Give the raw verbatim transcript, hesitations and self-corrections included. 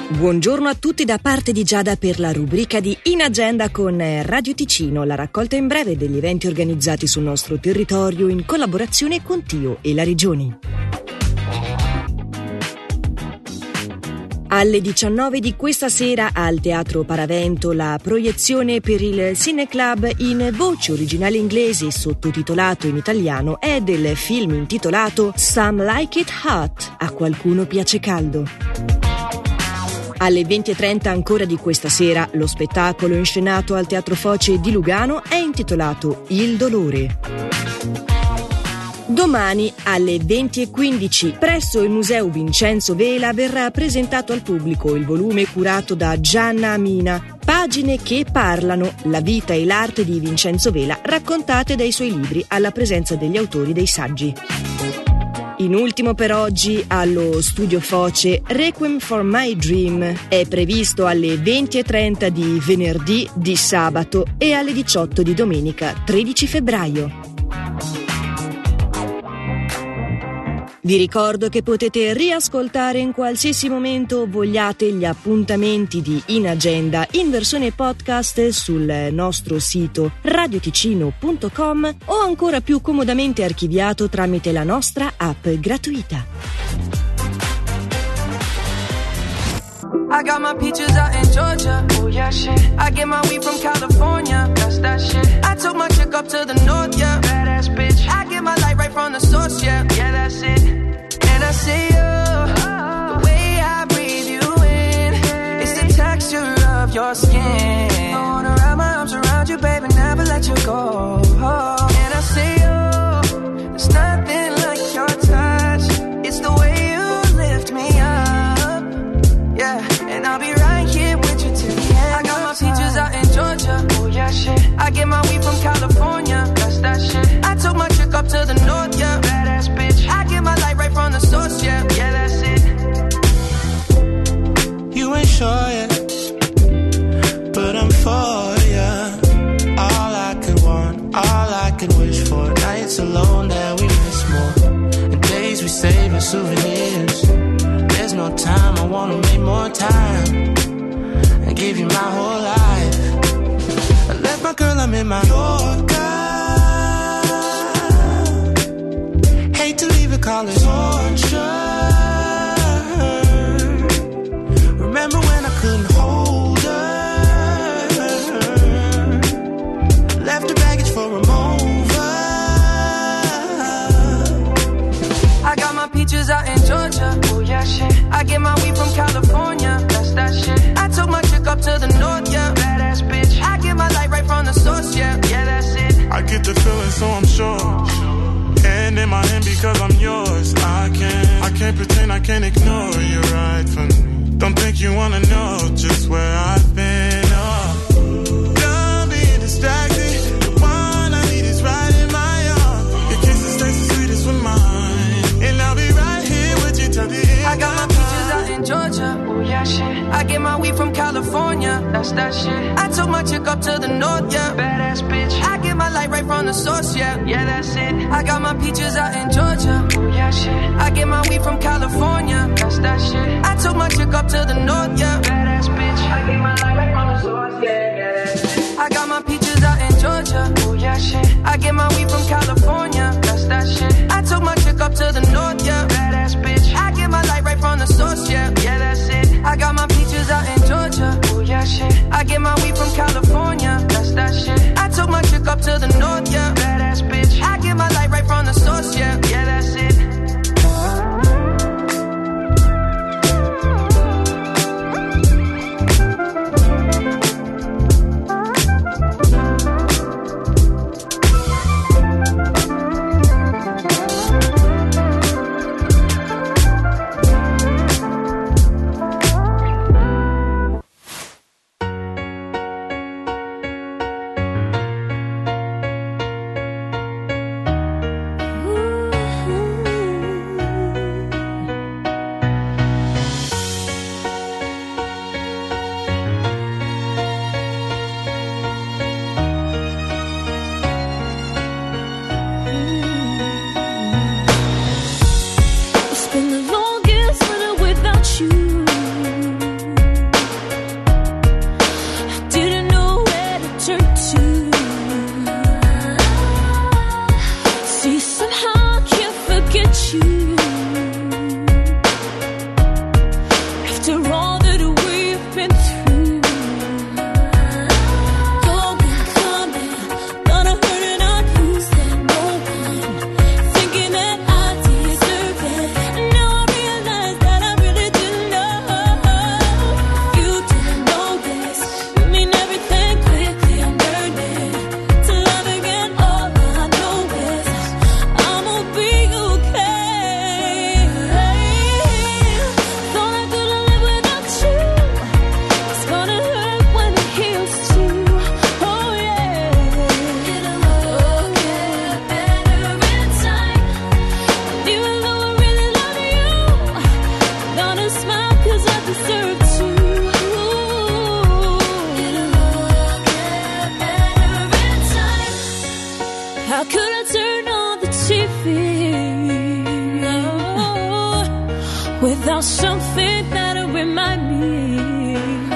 Buongiorno a tutti da parte di Giada per la rubrica di In Agenda con Radio Ticino, la raccolta in breve degli eventi organizzati sul nostro territorio in collaborazione con Tio e la Regione. Alle diciannove di questa sera al Teatro Paravento la proiezione per il Cineclub in voce originale inglese sottotitolato in italiano è del film intitolato Some Like It Hot, a qualcuno piace caldo. Alle venti e trenta ancora di questa sera lo spettacolo inscenato al Teatro Foce di Lugano è intitolato Il dolore. Domani alle venti e quindici presso il Museo Vincenzo Vela verrà presentato al pubblico il volume curato da Gianna Amina, Pagine che parlano, la vita e l'arte di Vincenzo Vela raccontate dai suoi libri alla presenza degli autori dei saggi. In ultimo per oggi allo Studio Foce Requiem for My Dream è previsto alle venti e trenta di venerdì, di sabato e alle diciotto di domenica tredici febbraio. Vi ricordo che potete riascoltare in qualsiasi momento vogliate gli appuntamenti di In Agenda in versione podcast sul nostro sito radioticino punto com o ancora più comodamente archiviato tramite la nostra app gratuita. I got my peaches out in Georgia, oh yeah shit. I get my weed from California, that's that shit. I took my chick up to the north, yeah, badass bitch. I get my light right from the source, yeah, yeah that's it. And I see you, the way I breathe you in, it's the texture of your skin. I wanna wrap my arms around you, baby, never let you go. And I see you, there's nothing like your touch. It's the way you lift me up, yeah. And I'll be right here with you till the end. I got my peaches out in Georgia, oh yeah shit. I get my weed from California, that's that shit. I took my chick up to the north, yeah, badass bitch. I get my light right from the source, yeah, yeah that's it. You ain't sure yet, but I'm for ya. All I could want, all I could wish for. Nights alone that we miss more, and days we save as souvenirs. There's no time, I wanna make more time and give you my whole life. I left my girl, I'm in my Yorker. Hate to leave it, call it torture. Remember when I couldn't hold her? Left her baggage for a mover. I got my peaches out in Georgia, oh yeah shit. I get my weed from California, that's that shit. I took my chick up to the north, yeah, badass bitch. I get my light right from the source, yeah, yeah that's it. I get the feeling so I'm sure, and in my hand because I'm yours. I can't, I can't pretend, I can't ignore you right from me. Don't think you wanna know just where I've been, oh. Done being distracted, the one I need is right in my arms. Your kisses taste the sweetest with mine, and I'll be right here with you till the end. I got my peaches out in Georgia, oh yeah shit. I get my weed from California, that's that shit. I took my chick up to the north, yeah, badass bitch. I get my light right from the source, yeah, yeah that's it. I got my peaches out in Georgia, oh yeah shit. I get my weed from California, that's that shit. I took my chick up to the north, yeah, badass bitch. I get my light right from the source, yeah, yeah that's it. I got my peaches out in Georgia, oh yeah shit. I get my weed from California, that's that shit. I took my chick up to the north, yeah, badass bitch. I get my light right from the source, yeah, yeah that's it. I got my peaches out in Georgia, oh yeah shit. I get my weed from California, that's that shit. I took my chick up to the north, yeah, badass bitch. I get my light right from the source, yeah, yeah that's it. without something that'll remind me